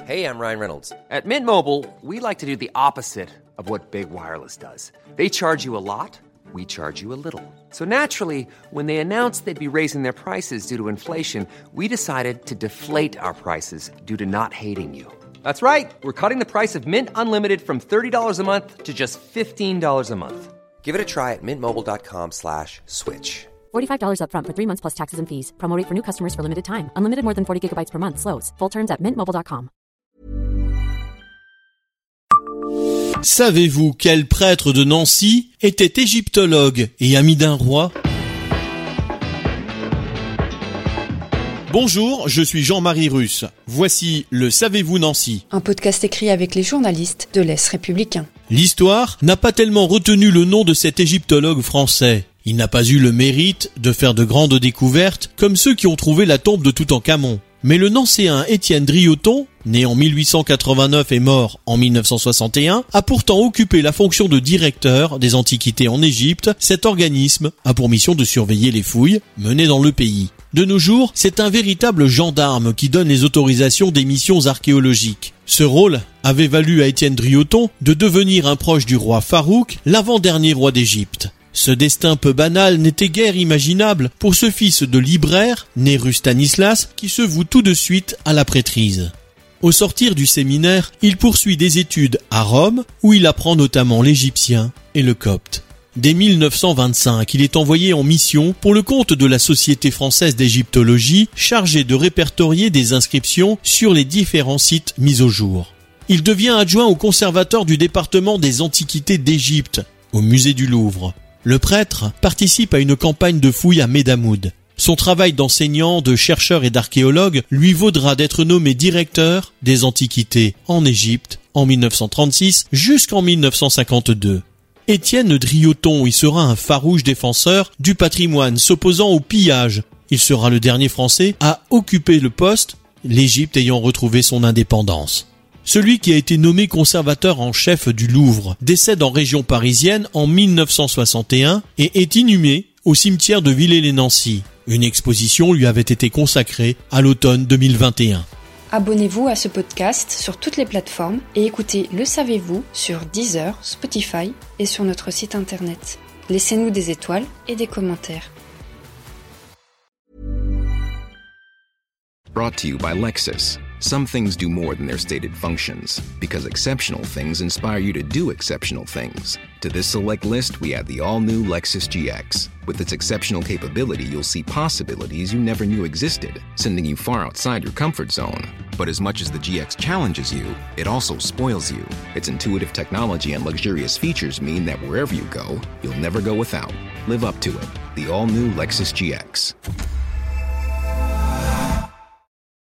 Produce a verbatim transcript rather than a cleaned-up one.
Hey, I'm Ryan Reynolds. At Mint Mobile, we like to do the opposite of what Big Wireless does. They charge you a lot, we charge you a little. So naturally, when they announced they'd be raising their prices due to inflation, we decided to deflate our prices due to not hating you. That's right. We're cutting the price of Mint Unlimited from thirty dollars a month to just fifteen dollars a month. Give it a try at mintmobile.com slash switch. forty-five dollars up front for three months plus taxes and fees. Promo rate for new customers for limited time. Unlimited more than forty gigabytes per month. Slows full terms at mint mobile dot com. Savez-vous quel prêtre de Nancy était égyptologue et ami d'un roi ? Bonjour, je suis Jean-Marie Russe. Voici le Savez-vous Nancy ? Un podcast écrit avec les journalistes de l'Est républicain. L'histoire n'a pas tellement retenu le nom de cet égyptologue français. Il n'a pas eu le mérite de faire de grandes découvertes comme ceux qui ont trouvé la tombe de Toutankhamon. Mais le Nancéen Étienne Drioton, né en mille huit cent quatre-vingt-neuf et mort en mille neuf cent soixante et un, a pourtant occupé la fonction de directeur des antiquités en Égypte. Cet organisme a pour mission de surveiller les fouilles menées dans le pays. De nos jours, c'est un véritable gendarme qui donne les autorisations des missions archéologiques. Ce rôle avait valu à Étienne Drioton de devenir un proche du roi Farouk, l'avant-dernier roi d'Égypte. Ce destin peu banal n'était guère imaginable pour ce fils de libraire, né rue Stanislas, qui se voue tout de suite à la prêtrise. Au sortir du séminaire, il poursuit des études à Rome, où il apprend notamment l'égyptien et le copte. Dès mille neuf cent vingt-cinq, il est envoyé en mission pour le compte de la Société française d'égyptologie, chargée de répertorier des inscriptions sur les différents sites mis au jour. Il devient adjoint au conservateur du département des antiquités d'Égypte, au musée du Louvre. Le prêtre participe à une campagne de fouilles à Médamoud. Son travail d'enseignant, de chercheur et d'archéologue lui vaudra d'être nommé directeur des antiquités en Égypte en mille neuf cent trente-six jusqu'en mille neuf cent cinquante-deux. Étienne Drioton y sera un farouche défenseur du patrimoine, s'opposant au pillage. Il sera le dernier Français à occuper le poste, l'Égypte ayant retrouvé son indépendance. Celui qui a été nommé conservateur en chef du Louvre décède en région parisienne en mille neuf cent soixante et un et est inhumé au cimetière de Villers-lès-Nancy. Une exposition lui avait été consacrée à l'automne deux mille vingt et un. Abonnez-vous à ce podcast sur toutes les plateformes et écoutez Le Savez-vous sur Deezer, Spotify et sur notre site internet. Laissez-nous des étoiles et des commentaires. Brought to you by Lexus. Some things do more than their stated functions, because exceptional things inspire you to do exceptional things. To this select list, we add the all-new Lexus G X. With its exceptional capability, you'll see possibilities you never knew existed, sending you far outside your comfort zone. But as much as the G X challenges you, it also spoils you. Its intuitive technology and luxurious features mean that wherever you go, you'll never go without. Live up to it. The all-new Lexus G X.